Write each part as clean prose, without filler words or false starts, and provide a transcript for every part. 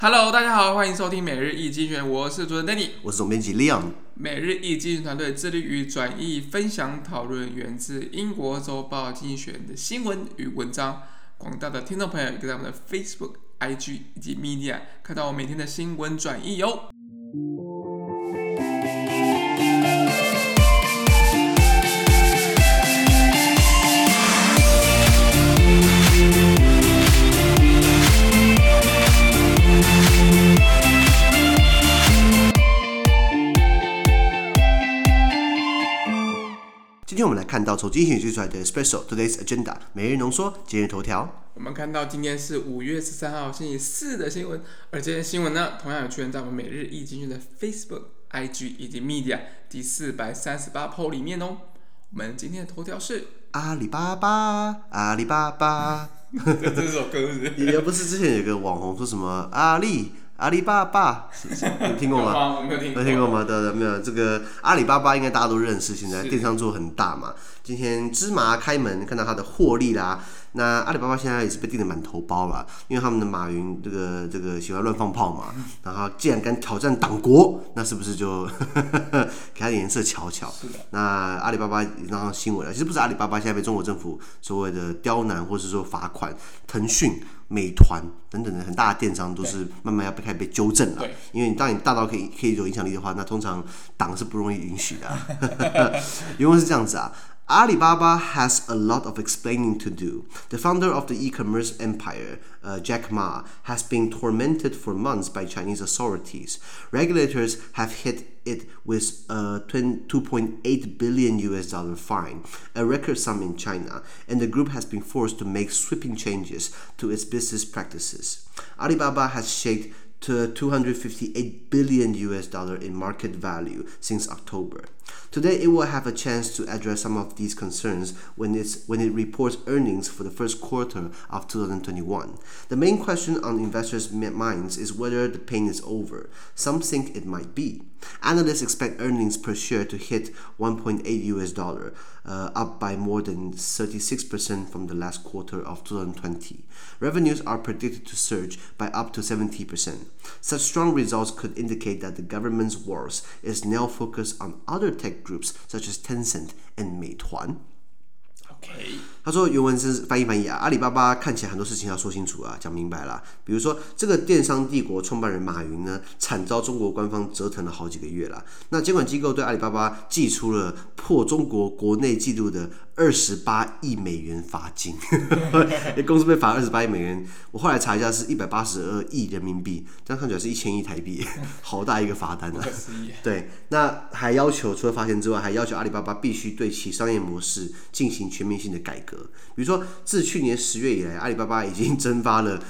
Hello， 大家好，歡迎收聽每日一精選，我是主持人 Danny， 我是總編輯 Leon。 每日一精選團隊致力於轉譯、分享、討論源自英國週報精選的新聞與文章。廣大的聽眾朋友也可以在我們的 Facebook、IG 以及 Media 看到我每天的新聞轉譯喲。 今天我們來看到從精選推出來的 Special Today's Agenda 每日濃縮今日頭條。 我們看到今天是5月13號星期四的新聞，而這些新聞呢，同樣有出現在我們每日一精選的 Facebook、IG 以及 Media 第438 po 裡面哦。我們今天的頭條是阿里巴巴，阿里巴巴。 這首歌是不是？ 也不是之前有個網紅說什麼阿里巴巴，你聽過嗎？ 我没有聽過。 没聽過嗎？對，沒有。這個阿里巴巴應該大家都認識，現在電商做很大嘛。今天芝麻開門，看到它的獲利啦。那阿里巴巴現在也是被訂得滿頭包了，因為他們的馬雲這個喜歡亂放炮嘛，然後既然敢挑戰黨國，那是不是就給他點顏色瞧瞧？那阿里巴巴也讓上新聞了，其實不是阿里巴巴現在被中國政府所謂的刁難或是說罰款，騰訊、美團等等的很大的電商都是慢慢要開始被糾正了。因為當你大到可以有影響力的話，那通常黨是不容易允許的、啊。原文是這樣子啊。Alibaba has a lot of explaining to do. The founder of the e-commerce empire, Jack Ma, has been tormented for months by Chinese authorities. Regulators have hit it with a $2.8 billion fine, a record sum in China, and the group has been forced to make sweeping changes to its business practices. Alibaba has shaped to $258 billion in market value since October. Today, it will have a chance to address some of these concerns when it reports earnings for the first quarter of 2021. The main question on investors' minds is whether the pain is over. Some think it might be. Analysts expect earnings per share to hit $1.8, up by more than 36% from the last quarter of 2020. Revenues are predicted to surge by up to 70%. Such strong results could indicate that the government's wars is now focused on other tech groups such as Tencent and 美團。他說原文是翻譯啊，阿里巴巴看起來很多事情要說清楚啊，講明白啦。比如說這個電商帝國創辦人馬雲呢，慘遭中國官方折騰了好幾個月啦。那監管機構對阿里巴巴祭出了破中國國內紀錄的28億美元罰金，公司被罰28億美元。我後來查一下是182億人民幣，這樣看起來是1000億台幣，好大一個罰單啊！對，那還要求除了罰錢之外，還要求阿里巴巴必須對其商業模式進行全面性的改革。比如說，自去年10月以來，阿里巴巴已經蒸發了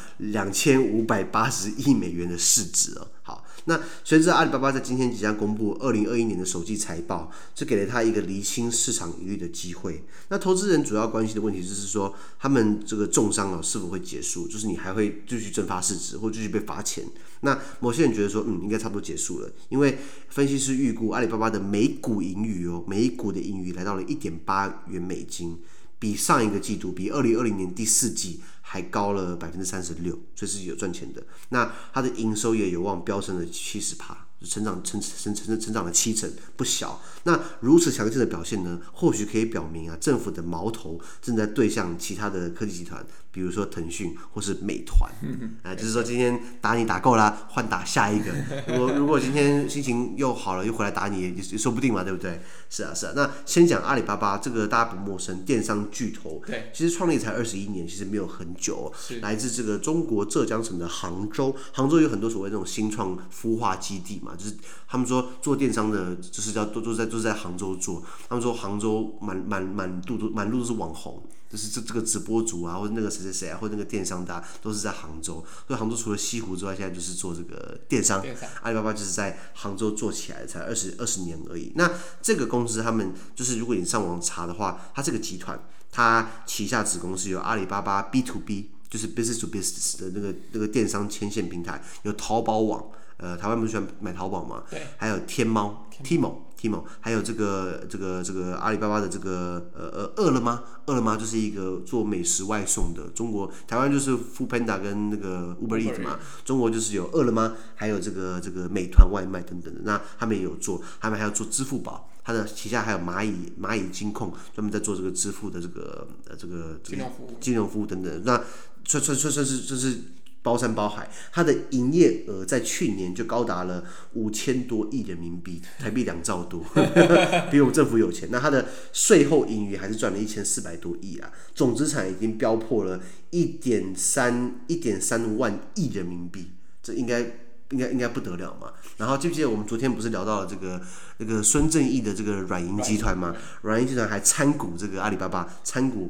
2580億美元的市值了。好，那隨着阿里巴巴在今天即將公布2021年的首季財報，這給了他一個釐清市場疑慮的機會。那投資人主要關心的問題就是說，他們這個重傷是否會結束？就是你還會繼續蒸發市值，或繼續被罰錢？那某些人覺得說，應該差不多結束了，因為分析師預估阿里巴巴的每股盈餘每股的盈餘來到了1.8元美金。比上一個季度，比2020年第4季還高了36%，所以是有賺錢的。那它的營收也有望飆升了70%，成長了70%，不小。那如此強勁的表現呢，或許可以表明啊，政府的矛頭正在對向其他的科技集團，比如說騰訊或是美團。就是說今天打你打夠了，換打下一個。如果今天心情又好了，又回來打你也說不定嘛，對不對？是啊。那先講阿里巴巴，這個大家不陌生，電商巨頭。對，其實創立才21年，其實沒有很久。來自這個中國浙江省的杭州有很多所謂那種新創孵化基地嘛，就是他們說做電商的，就是都在杭州做。他們說杭州滿路都是網紅，就是這個直播主啊，或者那個誰啊，或者那個電商的都是在杭州。所以杭州除了西湖之外，現在就是做這個電商。阿里巴巴就是在杭州做起來，才20年而已。那這個公司他們就是，如果你上網查的話，它這個集團，它旗下子公司有阿里巴巴 B2B， 就是 business to business 的那個電商牽線平台，有淘寶網。 台灣不是喜歡買淘寶嘛？ 對。 還有天貓 Tmall，還有這個阿里巴巴的這個餓了麼就是一個做美食外送的。中國台灣就是 Foodpanda 跟那個 Uber Eats 嘛，中國就是有餓了麼，還有這個美團外賣等等的。那他們也有做，他們還要做支付宝。它的旗下還有蚂蟻金控，專門在做這個支付的這個金融服務等等。那算是包山包海，它的營業額在去年就高達了5000多億人民幣，台幣2兆多，比我們政府有錢。那它的稅後盈餘還是賺了1400多億啊，總資產已經飆破了1.3萬億人民幣，這應該不得了嘛。然後记不記得我們昨天不是聊到了那個孫正義的這個軟銀集團嘛？軟銀集團還參股這個阿里巴巴，參股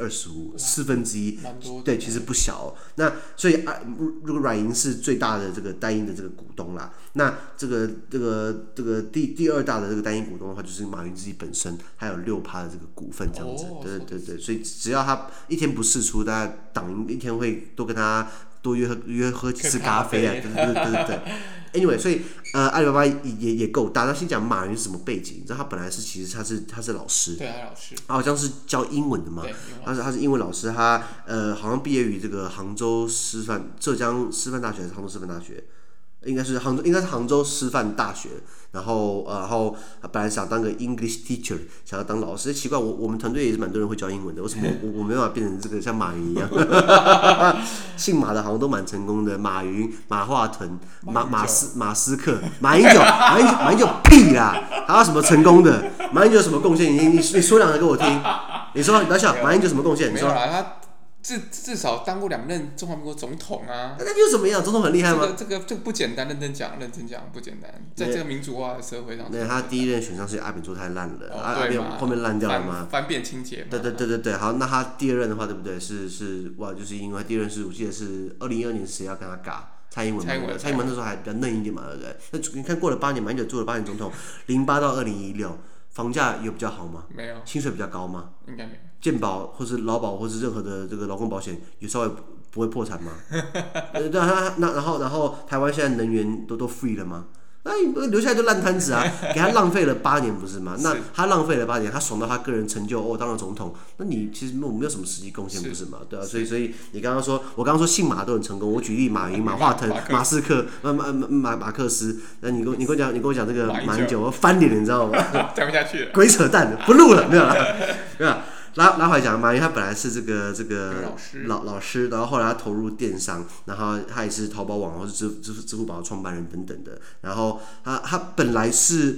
25%，1/4，對，其實不小哦。那所以如果軟银是最大的这個單一的这個股東啦，那這個第二大的這個單一股東的話，就是馬雲自己本身，還有6%的這個股份這樣子。對，所以只要他一天不釋出，大家黨銀一天會多跟他多約喝幾次咖啡啊，對。Anyway， 所以阿里巴巴也夠大。那先講馬雲是什麼背景？你知道他本來其實他是老師， 對，他老師， 好像是教英文的嘛。他是英文老師，他好像畢業於这個浙江师範大學還是杭州師範大學？應該是杭州師範大學。然後本來想當個 English teacher， 想要當老師。奇怪，我們團隊也是蠻多人會教英文的，為什麼我沒辦法變成這個像馬雲一樣？姓馬的好像都蠻成功的，馬雲、馬化騰、馬斯克、馬英九屁啦！還有什麼成功的？馬英九有什麼貢獻？你說兩個給我聽。你說，你不要笑，馬英九有什麼貢獻？你說。 至少當過2任中華民國總統啊， 那又怎麼樣？總統很厲害嗎？ 這個不簡單，認真講不簡單，在這個民主化的社會上。 對，他第一任選上是阿扁做太爛了，阿扁後面爛掉了嗎？ 翻遍清潔嘛。 對，好，那他第二任的話，对不對？是哇，就是因為第二任我記得是2012年誰要跟他尬？蔡英文那時候還比較嫩一點嘛，對不對？那你看過了8年，馬英九做了8年總統，08到2016，房價有比較好嗎？沒有。薪水比較高嗎？應該沒有。健保或是勞保或是任何的這個勞工保險有稍微不會破產嗎？然後台灣現在能源都 free 了嗎？那留下來就爛攤子啊，給他浪費了8年不是嗎？那他浪費了8年，他爽到他個人成就當了總統，那你其實沒有什麼實際貢獻不是嗎？對啊，所以你剛剛說，我剛剛說姓馬都很成功，我舉例馬雲、馬化騰、馬斯克、馬克思，那你跟我講這個馬英九，我翻臉了，你知道嗎？ 講不下去了， 鬼扯淡，不錄了，沒有了，沒有。拉回來講，馬雲他本來是這個老師，然後後來他投入電商，然後他也是淘寶網或是支付寶的創辦人等等的。然後他本來是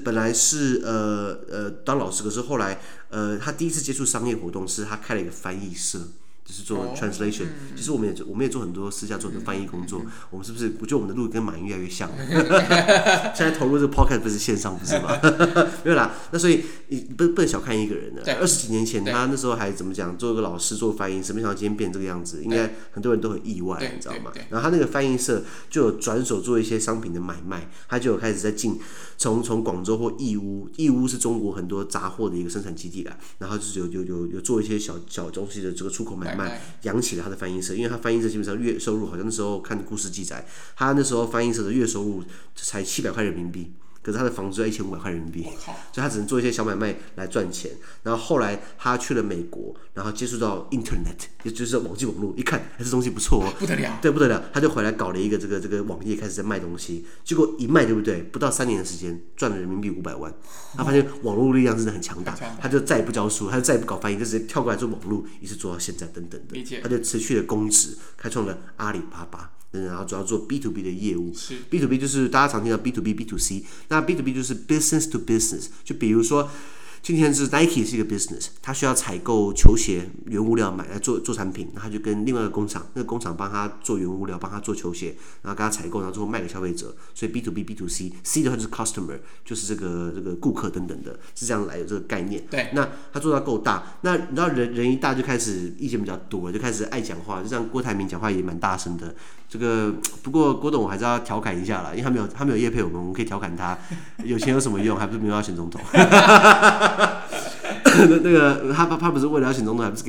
當老師，可是後來他第一次接觸商業活動是他開了一個翻譯社。就是做 translation，其實我們也做很多私下做的翻譯工作。我們是不是？我覺得我們的路跟馬雲越來越像。現在投入這個 podcast 不是線上不是嗎？沒有啦。那所以你不能小看一個人的。20幾年前他那時候還怎麼講？做一個老師做翻譯，沒想到今天變這個樣子，應該很多人都很意外，你知道嗎？然後他那個翻譯社就有轉手做一些商品的買賣，他就有開始在從廣州或義烏是中國很多雜貨的一個生產基地啦。然後就是有做一些小東西的這個出口買賣。養起了他的翻譯社，因為他翻譯社基本上月收入好像那時候看故事記載，他那時候翻譯社的月收入才700塊人民幣，可是他的房租要1500塊人民幣，所以他只能做一些小買賣來賺錢。然後後來他去了美國，然後接觸到 Internet， 也就是網際網絡，一看這東西不錯哦，不得了，对不得了，他就回來搞了一個這個網頁，開始在賣東西。結果一賣，對不對？不到3年的時間，賺了人民幣500萬。他發現網絡力量真的很強大，他就再也不教書，他就再也不搞翻譯，就直接跳過來做網絡，一直做到現在等等的。他就持續的公職，開創了阿里巴巴。然後主要做 B to B 的業務，B to B 就是大家常聽到 B to B、B to C， 那 B to B 就是 business to business， 就比如說。今天是 Nike 是一個 business， 他需要採購球鞋原物料買來做產品，然後他就跟另外一個工廠，那個工廠幫他做原物料，幫他做球鞋，然後跟他採購，然後最後賣給消費者。所以 B to B、B to C，C 的話就是 customer， 就是這個顧客等等的，是這樣來的這個概念。對，那他做到夠大，那你知道人一大就開始意見比較多，就開始愛講話，就像郭台銘講話也蠻大聲的。這個不過郭董我還是要調侃一下啦，因為他沒有業配我們可以調侃他，有錢有什麼用？還不是沒有要選總統。那個他不是為了要選總統，還不是可以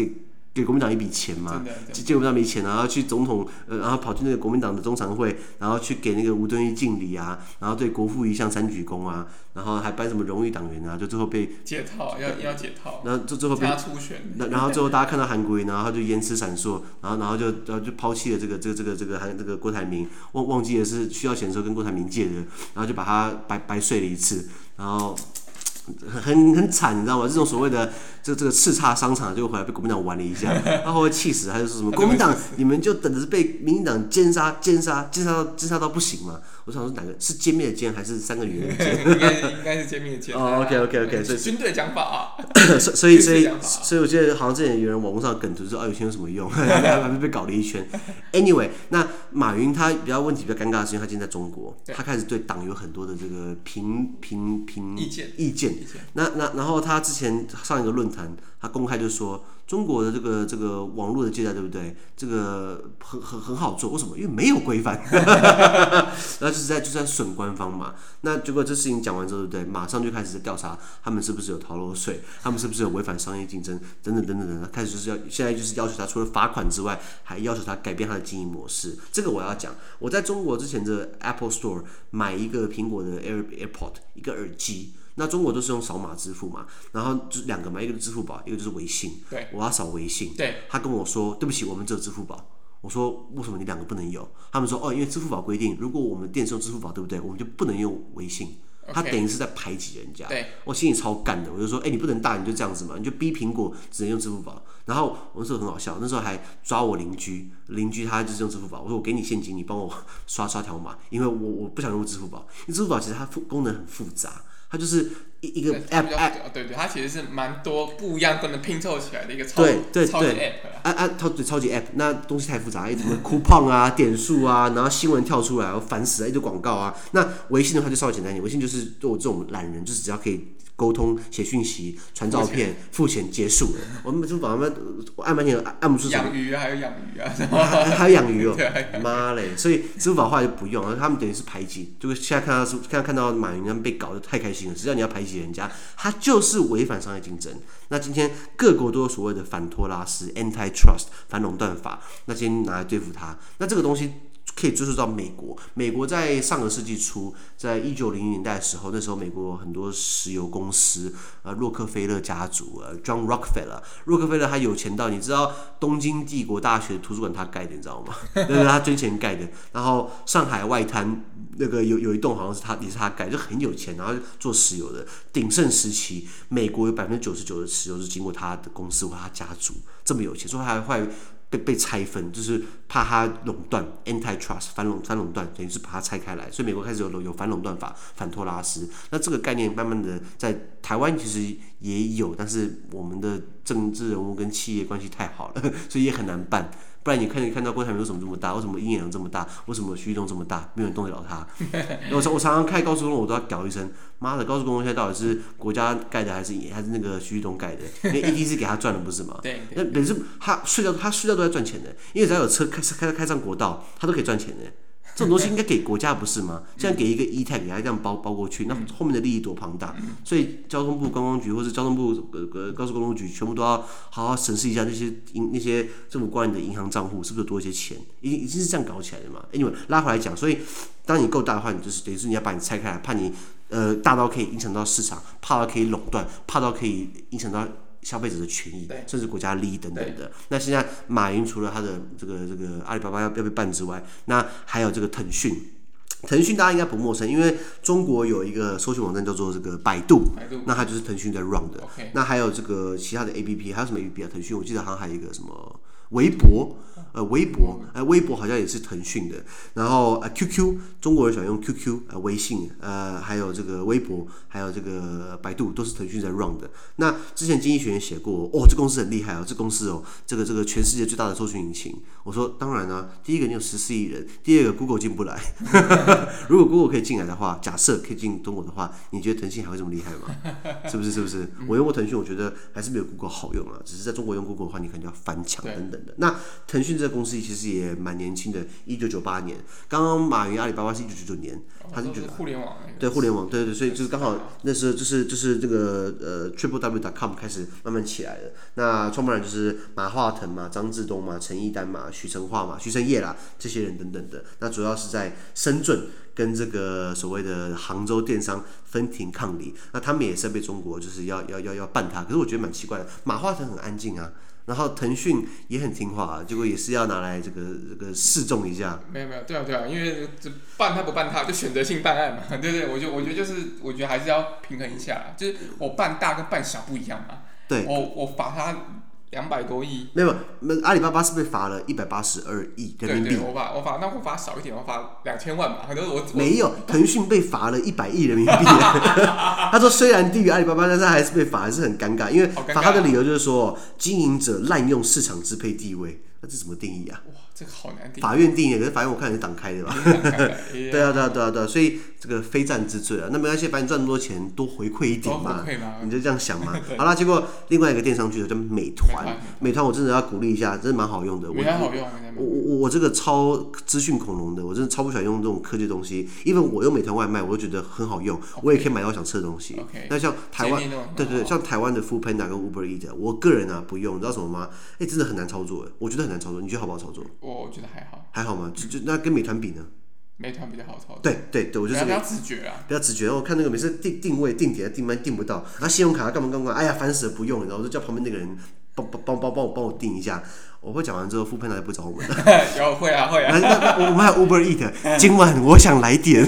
給國民黨一筆錢嘛，借國民黨一筆錢，然後去總統然後跑去那個國民黨的中常會，然後去給那個吳敦義敬禮啊，然後對國父遺像3鞠躬啊，然後還頒什麼榮譽黨員啊，就最後被解套，要解套， 然後最後被他初選， 然後最後大家看到韓國瑜，然後他就言辭閃爍，然後就拋棄了這個郭台銘，忘記了是需要錢的時候跟郭台銘借的，然後就把他白睡了一次，然後。很慘，你知道嗎？這種所謂的這個叱咤商場，就回來被國民黨玩了一下，他會氣死，他就說什麼國民黨你們就等着被民進黨奸殺到不行嘛？我想說哪個是歼滅的殲還是3個女人的殲？ 應該是殲滅的殲。 哦 ，OK， 所以軍隊講法啊。 所以我记得好像之前有人網絡上梗圖說有錢有什麼用，還被搞了一圈。Anyway， 那馬雲他問題比較尷尬的是，因為他今天在中國，他開始對黨有很多的这個意見。然後他之前上一個論壇，他公開就說中國的這個網絡的借貸，對不對？這個很好做，為什麼？因為沒有規範，那就是在損官方嘛。那結果這事情講完之後，對不對？馬上就開始在調查他們是不是有逃漏稅，他們是不是有違反商業競爭，等等，開始現在就是要求他除了罰款之外，還要求他改变他的經營模式。這個我要講，我在中國之前的 Apple Store 買一個蘋果的 AirPod 一個耳機。那中國都是用掃碼支付嘛，然後就2個嘛，一個是支付寶，一個就是微信。 對， 我要掃微信。 對，他跟我說对不起，我們只有支付寶。我說為什麼你2個不能有？他們說因為支付寶規定，如果我們店是用支付寶，對不对？我們就不能用微信。他等於是在排擠人家。對，我心裡超幹的，我就說你不能大，你就這樣子嘛，你就逼蘋果只能用支付宝。然後我那時候很好笑，那時候還抓我鄰居他就是用支付寶，我說我給你現金，你幫我刷條碼，因為我不想用支付寶，因為支付寶其實它功能很複雜。它就是一個 app， 对，它其實是蠻多不一樣功能拼湊起來的一個超級 app 超級 app， 那東西太複雜，什麼 coupon 啊、點數啊，然後新聞跳出來，我煩死了，一堆廣告啊。那微信的話就稍微簡單一點，微信就是對我這種懶人，就是只要可以溝通、寫訊息、傳照片、付錢結束了。我們支付寶我按半天按不出什麼。 養魚還有養魚啊， 還有養魚哦，媽嘞！所以支付寶後來就不用了，他們等於是排擠。就是現在看到馬雲他們被搞得太開心了，只要你要排擠人家，他就是違反商業競爭。那今天各國都有所謂的反托拉斯 （antitrust） 反壟斷法，那今天拿來對付他，那這個東西。可以追溯到美國。美國在上個世紀初，在1900年代的時候，那時候美國有很多石油公司，洛克菲勒家族，John Rockefeller， 洛克菲勒他有錢到，你知道東京帝國大學的圖書館他蓋的，你知道嗎？那是他捐錢蓋的。然後上海外灘那個有一棟好像是也是他蓋，就很有錢，然後做石油的。鼎盛時期，美國有99%的石油是經過他的公司或他家族，這麼有錢，所以他還會被拆分，就是怕他壟斷 ，antitrust 反壟斷，等於是把它拆開來，所以美國開始有反壟斷法、反托拉斯。那這個概念慢慢的在台灣其實也有，但是我們的政治人物跟企業關係太好了，所以也很難辦。不然你看到郭台銘為什麼這麼大？為什麼殷業這麼大？為什麼徐旭東這麼大？沒有人動得了他。我常常開高速公路，我都要屌一聲，媽的！高速公路現在到底是國家蓋的還是那個徐旭東蓋的？因為 ETC 給他賺的不是嗎？對。那等於是他睡覺都在賺錢的，因為只要有車開上國道，他都可以賺錢的。這種東西應該給國家不是嗎？現在給一個 E-Tag 給他這樣包過去，那後面的利益多龐大。所以交通部觀光局或者交通部高速公路局全部都要好好審視一下那些政府官員的銀行賬戶是不是多一些錢，已經是這樣搞起來的嘛。Anyway， 拉回來講，所以當你夠大的話，你就是等於是你要把你拆開來，怕你大到可以影響到市場，怕到可以壟斷，怕到可以影響到消費者的權益，甚至國家利益等等的。那現在馬雲除了他的這個阿里巴巴要被辦之外，那還有這個騰訊大家應該不陌生，因為中國有一個搜尋網站叫做這個百度，那它就是騰訊在 run 的。那還有這個其他的 APP， 還有什麼 APP 啊？騰訊我記得好像還有一個什麼微博好像也是騰訊的。然後QQ 中國人喜歡用 QQ， 微信還有這個微博，還有這個百度都是腾訊在 run 的。那之前經濟學人寫過，這公司很厲害哦，这公司這個全世界最大的搜尋引擎。我說當然啊，第一個你有14億人，第二個 Google 進不來。如果 Google 可以進來的話，假設可以進中國的話，你覺得騰訊還會這麼厲害嗎？是不是？我用過騰訊，我覺得還是沒有 Google 好用啊。只是在中國用 Google 的話，你可能要翻牆等等等的。那騰訊這個公司其實也蠻年輕的，1998年，剛剛馬雲阿里巴巴是1999年，他是互聯網对互聯網，对，所以就是剛好那時候就是這個www.com 開始慢慢起來了。那創辦人就是馬化騰嘛、張志東嘛、陳一丹嘛、許成化嘛、許成業啦這些人等等的。那主要是在深圳跟這個所謂的杭州電商分庭抗禮。那他們也是被中國就是要辦他，可是我覺得蠻奇怪的，馬化騰很安靜啊。然後騰訊也很聽話，結果也是要拿來這個示眾一下。沒有，對啊，因為辦他不辦他，就選擇性辦案嘛，對，我覺得還是要平衡一下，就是我辦大跟辦小不一樣嘛。對，我罰他200多億。沒有，阿里巴巴是被罰了182億人民幣。對，我罰少一點，我罰2000萬吧。沒有，騰訊被罰了100億人民幣。他說雖然低於阿里巴巴，但是他還是被罰，還是很尷尬。因為罰他的理由就是說，經營者濫用市場支配地位。那這怎麼定義啊？哇，這個好難定義。法院定義，可是法院我看也是黨開的吧？對啊，所以這個非戰之罪啊，那沒關係，反正賺那麼多錢，多回饋一點嘛，你就這樣想嘛。好啦，結果另外一個電商巨頭叫美團，美團我真的要鼓勵一下，真的蠻好用的。美團好用，我這個超資訊恐龍的，我真的超不喜歡用這種科技的東西。因為我用美团外賣，我就覺得很好用，我也可以買到我想吃的東西。那像台灣，對，像台灣的 Foodpanda 跟 Uber Eats， 我個人啊不用，你知道什麼嗎？真的很難操作，我覺得很難操作，你觉得好不好操作？我覺得還好嗎？那跟美团比呢？美团比較好操作。对，我就是比较直觉啦，比较直觉。我看那個每次定位定點定班定不到，然後信用卡幹嘛，哎呀煩死了，不用了，然後我就叫旁邊那個人幫我定一下。我會講完之後，Foodpanda就不找我們了。有會啊。那我們還有 Uber Eats， 今晚我想來點。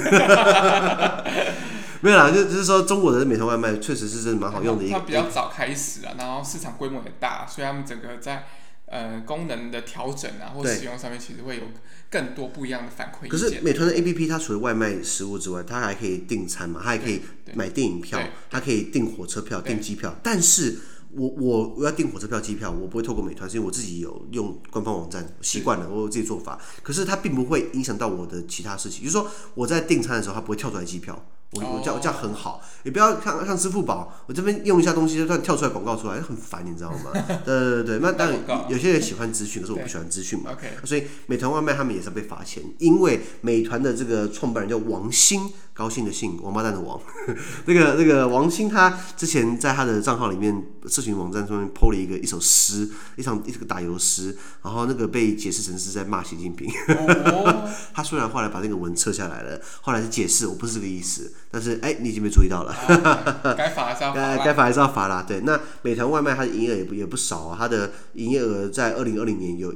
沒有啦，就是說中國的美团外賣確實是真的蠻好用的一個。它比較早開始啊，然後市場規模也大，所以他們整個在功能的調整啊或使用上面，其實會有更多不一樣的反饋意見。可是美团的 APP 它除了外賣食物之外，它還可以訂餐嘛，它還可以買電影票，它可以訂火車票、訂機票。但是我要訂火車票、機票，我不會透過美團，是因為我自己有用官方網站習慣了，我有自己做法。可是它並不會影響到我的其他事情，就是說我在訂餐的時候，它不會跳出來機票。我這樣很好，也不要像支付寶，我這邊用一下東西就突然跳出來廣告出來，很煩，你知道嗎？對，那當然有些人喜歡資訊，可是我不喜歡資訊嘛。所以美團外賣他們也是要被罰錢，因為美團的這個創辦人叫王興，高興的興，王八蛋的王。那個王興他之前在他的賬號裡面，社群網站上面 po 了一首詩，一個打油詩，然後那個被解釋成是在罵習近平。他雖然後來把那個文撤下來了，後來是解釋我不是這個意思。但是你已經被注意到了，該罰還是要罰啦。該罰還是要罰啦。對，那美團外賣它的營業額也不少啊，它的營業額在2020年有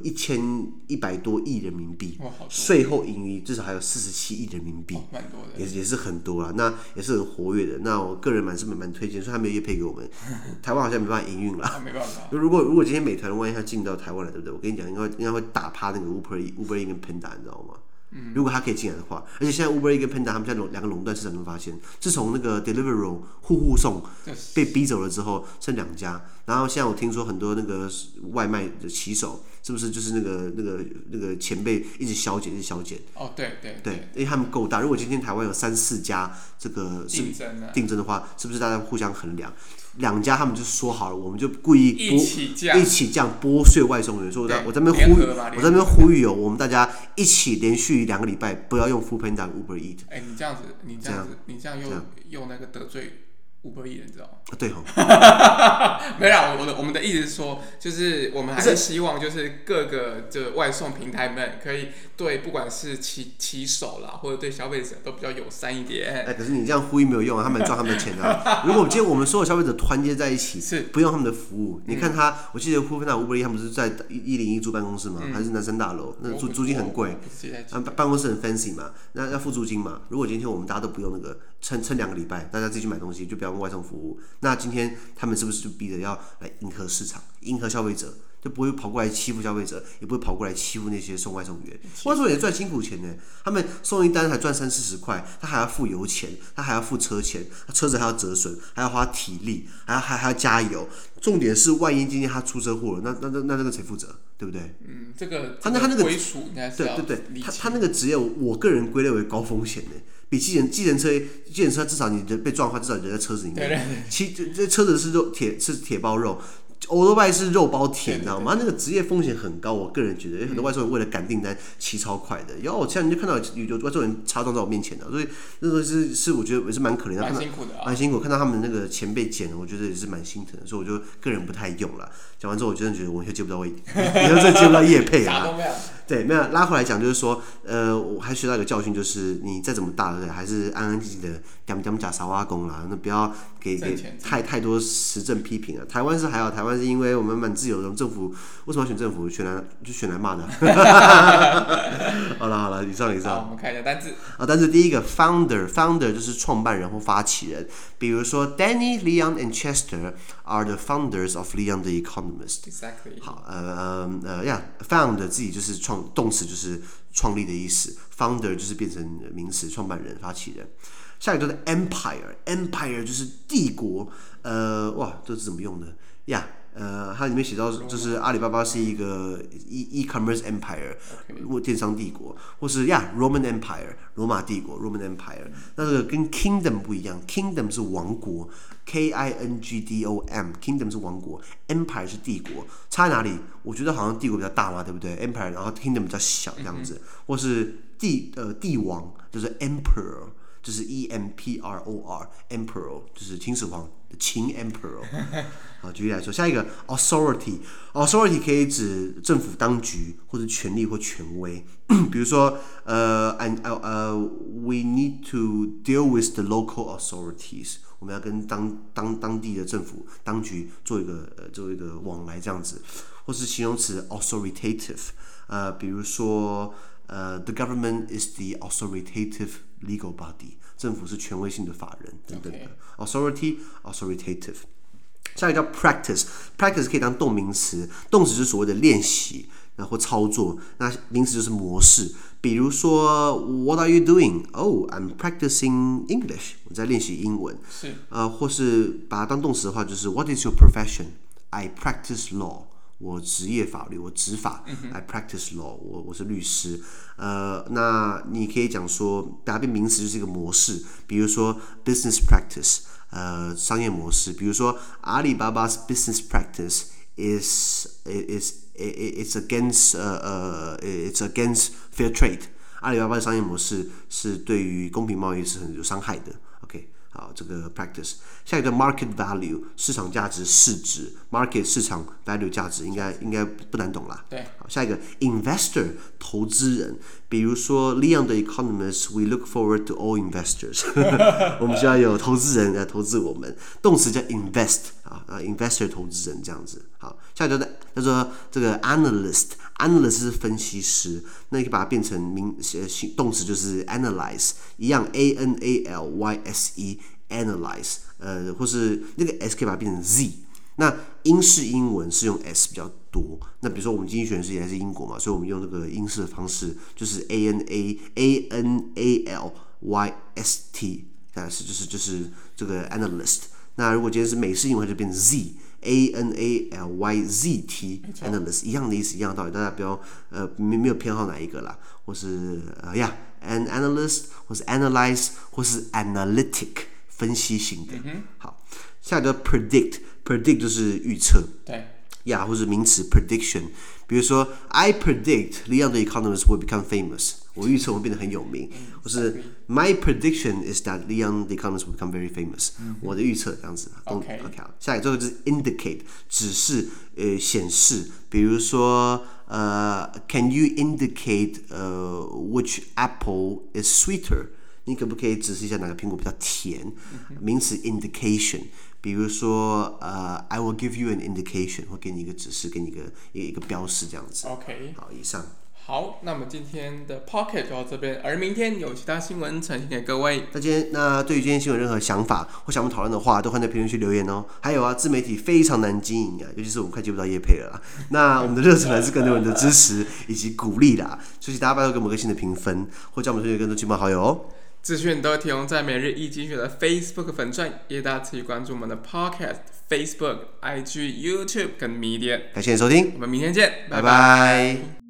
1100多億人民幣，稅後盈餘至少還有47億人民幣，蠻多的，也是很多啦。那也是很活躍的。那我個人蠻推薦，所以他沒有業配給我們，台灣好像沒辦法營運啦。沒辦法。如果今天美團萬一它進到台灣來，對不對？我跟你講，應該會打趴那個 Uber Eats 跟 Panda， 你知道嗎？如果他可以進來的話，而且現在 Uber Eats 跟 Panda 他們現在兩個壟斷市場，你會發現，自從那個 Deliveroo 戶送被逼走了之後，剩2家。然後現在我聽說很多那個外賣的騎手，是不是就是那個前輩一直削減？哦，對，因為他們夠大。如果今天台灣有3-4家這個競爭的話，是不是大家互相衡量？2家他們就說好了，我們就故意一起這樣剝削外送員。所以我在那邊呼籲我們大家一起連續2個禮拜不要用 Foodpanda Uber Eats。你這樣又那個得罪Uber Eats，你知道嗎？對沒啦，我們的意思是說，就是我们還是希望，就是各個這外送平台們可以對不管是騎手啦，或者對消費者都比較友善一點。可是你這樣呼籲沒有用啊，他們賺他們的錢啊。如果今天我們所有消費者團結在一起，不用他們的服務，你看我記得 Foodpanda Uber Eats 他們不是在101住辦公室嘛，還是南山大樓，那租金很貴，辦公室很 fancy 嘛，那要付租金嘛。如果今天我們大家都不用那個，撐2個禮拜，大家自己去買東西，就不要用外送服務。那今天他們是不是就逼着要來迎合市場、迎合消費者，就不會跑過來欺負消費者，也不會跑過來欺負那些送外送員。外送員也賺辛苦錢呢，他們送一單還賺30-40塊，他還要付油錢，他還要付車錢，他車子還要折損，還要花體力，還要加油。重點是，萬一今天他出車禍了，那這個誰負責？對不對？這個他那個歸屬應該是要對，他那個職業，我個人歸類為高風險的。比計程車至少你被撞的話，至少你在車子裡面。這車子是鐵包肉， 歐多拜是肉包甜，你知道嗎？那個職業風險很高，我個人覺得，因為很多外州人為了趕訂單，騎超快的。然後我现在你就看到有外州人插裝在我面前的，所以那個是我覺得也是蠻可憐的， 蠻辛苦的啊， 蠻辛苦。看到他們那個錢被剪了，我覺得也是蠻心疼的，所以我就個人不太用了。講完之後，我真的覺得我以後接不到以後真的接不到業配啊。對，沒有拉回來講，就是說，我還學到一個教訓，就是你再怎麼大，還是安安靜靜的點假沙挖工啦，那不要給太多時政批評啊。台灣是還好，台灣是因為我們蠻自由的，政府為什麼要選政府？選來罵的。好了，以上。好， 我們看一下單字。 單字第一個 founder 就是創辦人或發起人，比如說 Danny, Leon and Chester are the founders of Leon the Economist. Exactly. 好，found 自己就是动詞就是創立的意思 ，founder 就是變成名詞，創辦人、發起人。下一個就是 empire 就是帝國，這是怎麼用的呀？它裡面寫到就是阿里巴巴是一個 e-commerce empire， 電商帝國，或是Roman Empire 羅馬帝國 Roman Empire。那這個跟 kingdom 不一樣 ，kingdom 是王國 ，K-I-N-G-D-O-M kingdom 是王國 ，empire 是帝國，差在哪裡？我覺得好像帝國比較大嘛，對不對 ？empire 然後 kingdom 比較小這樣子，或是帝王就是 emperor。就是 E-M-P-R-O-R Emperor 就是秦始皇的秦 Emperor。好，舉例來說，下一個 authority 可以指政府當局或者權力或權威。比如說we need to deal with the local authorities， 我們要跟當地的政府當局做一個往來這樣子，或是形容詞 authoritative， 比如說the government is the authoritative legal body， 政府是權威性的法人等等的。authoritative。下一個叫 practice 可以當動名詞，動詞是所謂的練習或操作，那名詞就是模式。比如說 What are you doing? Oh, I'm practicing English， 我在練習英文。 是。或是把它當動詞的話，就是 What is your profession? I practice law。我職業法律，我執法。I practice law， 我是律師。那你可以講說，把它變名詞就是一個模式，比如說 business practice， 商業模式。比如說阿里巴巴 's business practice is against fair trade。阿里巴巴的商業模式是對於公平貿易是很有傷害的。OK。好，這個 practice。下一個 market value 市場價值市值 ，market 市場 value 價值應該不難懂啦。 對。 好，下一個 investor 投資人，比如說 Leon the Economist we look forward to all investors 我們需要有投資人來投資我們。動詞叫 invest investor 投資人這樣子。好，下一個叫做這個 analyst 是分析師，那你可以把它變成動詞就是 analyze， 一樣 A-N-A-L-Y-S-E analyze， 或是那個 S 可以把它變成 Z。那英式英文是用 S 比較多，那比如說我們经濟學人是也是英國嘛，所以我們用這個英式的方式，就是 A-N-A-L-Y-S-T， 就是這個 analyst。那如果今天是美式英文，就變成 Z。A-N-A-L-Y-Z-T analyst 一樣的意思，一樣的道理，大家不要沒有偏好哪一個啦，或是an analyst， 或是 analyze， 或是 analytic 分析型的。好，下一個 predict 就是預測， 對， 或是名詞 prediction， 比如說 I predict Leon the Economist will become famous， 我預測我會變得很有名，或是 My prediction is that Leon the Economist will become very famous，我的預測這樣子。OK， 下一個就是 indicate 指示顯示，比如說Can you indicate which apple is sweeter？ 你可不可以指示一下哪個蘋果比較甜？名詞 indication， 比如說I will give you an indication， 或給你一個指示，給你一個標示這樣子。 OK， 好，以上。 好，那麼今天的 Pocket 就到這邊，而明天有其他新聞呈現給各位。 那對於今天新聞有任何想法或想我們討論的話，都歡迎在評論區留言哦。還有自媒體非常難經營尤其是我們快接不到業配了啦。那我們的熱忱來自更多人的支持以及鼓勵啦，所以大家拜託給我們個新的評分，或叫我們推薦更多親朋好友哦。 資訊都會提供在每日一經濟學的 Facebook 粉專，也大家持續關注我們的 Podcast、Facebook、IG、YouTube 跟 Media。 感謝你收聽， 我們明天見，拜拜。